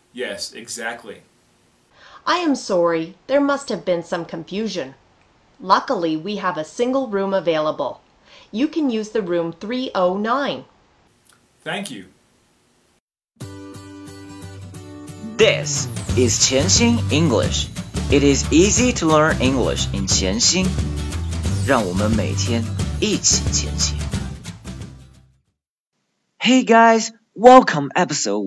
Yes, exactly. I am sorry, there must have been some confusion. Luckily, we have a single room available. You can use the room 309. Thank you. This is 潜心 English. It is easy to learn English in 潜心。让我们每天一起前行。Hey guys, welcome episode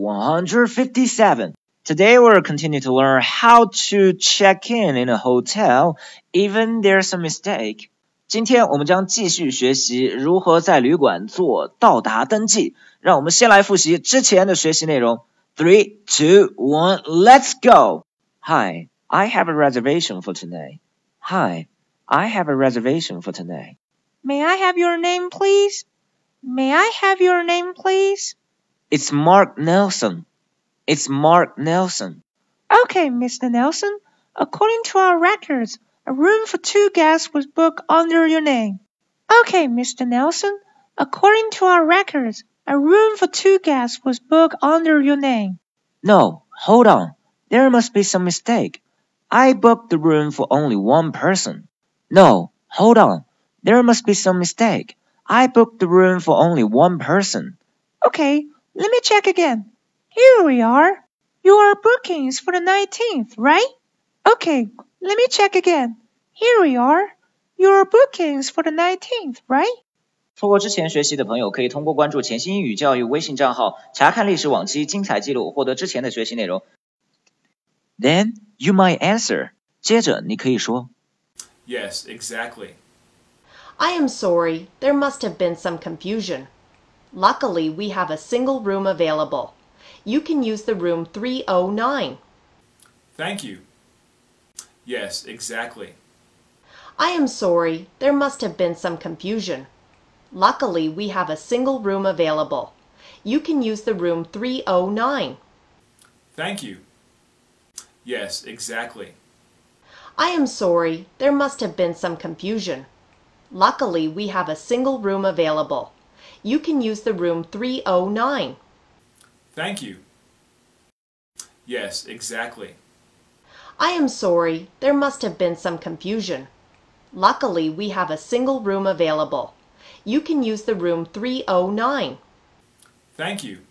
157. Today we'll continue to learn how to check in a hotel even there's a mistake. 今天我们将继续学习如何在旅馆做到达登记。让我们先来复习之前的学习内容。3, 2, 1, let's go! Hi, I have a reservation for tonight. Hi, I have a reservation for tonight. May I have your name, please? May I have your name, please? It's Mark Nelson. It's Mark Nelson. Okay, Mr. Nelson. According to our records, a room for 2 guests was booked under your name. Okay, Mr. Nelson. According to our records, a room for 2 guests was booked under your name. No, hold on. There must be some mistake. I booked the room for only one person. No, hold on. There must be some mistake. I booked the room for only one person. Okay, let me check again. Here we are. Your bookings for the 19th, right? Okay, let me check again. Here we are. Your bookings for the 19th, right? 错过之前学习的朋友可以通过关注潜心英语教育微信账号查看历史往期精彩记录，获得之前的学习内容。Then you might answer. 接着你可以说 Yes, exactly. I am sorry, there must have been some confusion. Luckily, we have a single room available. You can use the room 309. Thank you. Yes, exactly. I am sorry, there must have been some confusion. Luckily, we have a single room available. You can use the room 309. Thank you. Yes, exactly. I am sorry, there must have been some confusion. Luckily, we have a single room available. You can use the room 309. Thank you. Yes, exactly. I am sorry, there must have been some confusion. Luckily, we have a single room available. You can use the room 309. Thank you.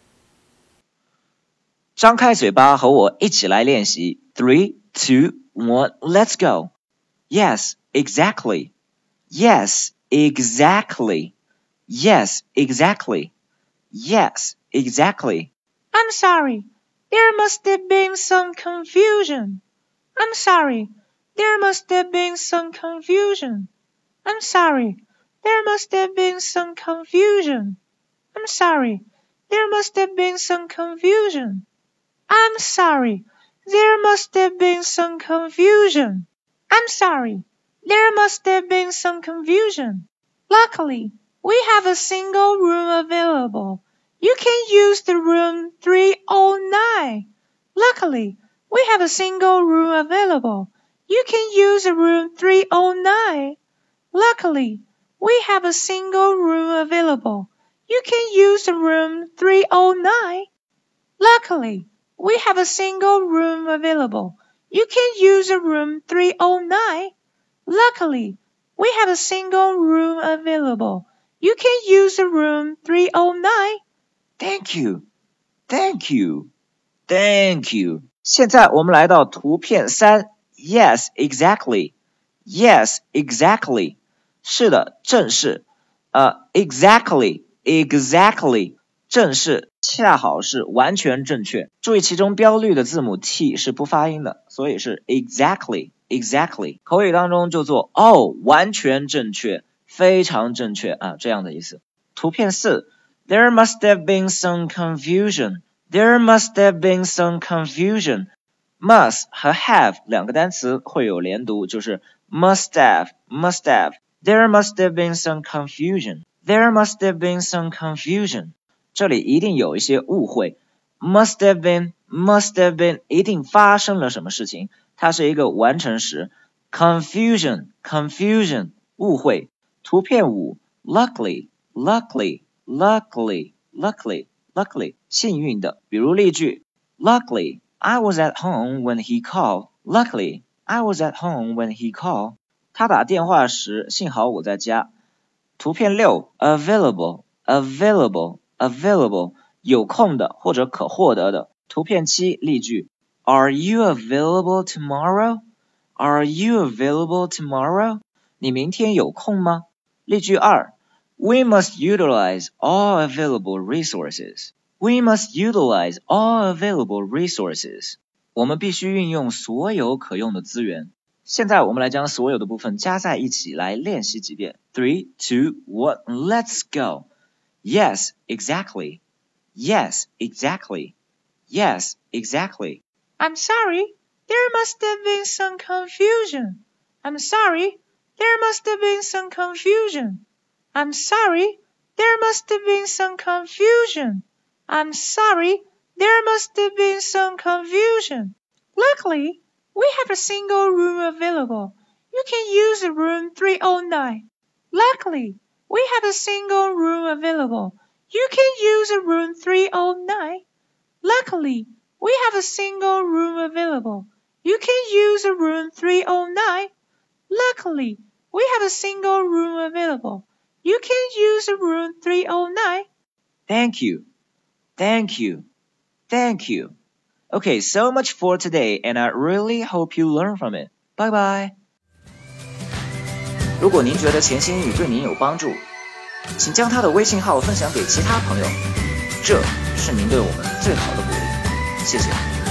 张开嘴巴和我一起来练习 3, 2, 1, let's go. Yes, exactly. Yes, exactly. Yes, exactly. Yes, exactly. I'm sorry. There must have been some confusion. I'm sorry. There must have been some confusion. I'm sorry. There must have been some confusion. I'm sorry. There must have been some confusion. I'm sorry. There must have been some confusion. I'm sorry. There must have been some confusion. Luckily, we have a single room available. You can use the room 309. Luckily, we have a single room available. You can use the room 309. Luckily, we have a single room available. You can use the room 309. Luckily, we have a single room available. You can use the room 309. Luckily, we have a single room available. You can use the room 309. Thank you. Thank you. Thank you. 现在我们来到图片3 Yes, exactly. Yes, exactly. 是的，正是。Exactly, exactly. 正是，恰好是完全正确。注意其中标绿的字母 T 是不发音的，所以是 exactly, exactly. 口语当中就做完全正确，非常正确啊，这样的意思。图片4 There must have been some confusion. There must have been some confusion. Must 和 have 两个单词会有连读，就是 must have, must have. There must have been some confusion. There must have been some confusion. 这里一定有一些误会。Must have been 一定发生了什么事情，它是一个完成时。Confusion, confusion, 误会。图片5 Luckily, luckily, luckily, luckily, luckily, 幸运的。比如例句 Luckily, I was at home when he called. Luckily, I was at home when he called. 他打电话时，幸好我在家。图片6 available, available, available 有空的或者可获得的。图片7例句 Are you available tomorrow? Are you available tomorrow? 你明天有空吗？例句2 We must utilize all available resources. We must utilize all available resources. 我们必须运用所有可用的资源。现在我们来将所有的部分加在一起来练习几遍。3, 2, 1, let's go. Yes, exactly. Yes, exactly. Yes, exactly. I'm sorry, there must have been some confusion. I'm sorry, there must have been some confusion. I'm sorry, there must have been some confusion. I'm sorry, there must have been some confusion. Luckily, we have a single room available. You can use room 309. Luckily, we have a single room available. You can use room 309. Luckily, we have a single room available. You can use room 309. Luckily, we have a single room available. You can use room 309. Thank you. Thank you. Thank you. Okay, so much for today, and I really hope you learn from it. Bye bye. 如果您觉得潜心英语对您有帮助，请将他的微信号分享给其他朋友，这是您对我们最好的鼓励。谢谢。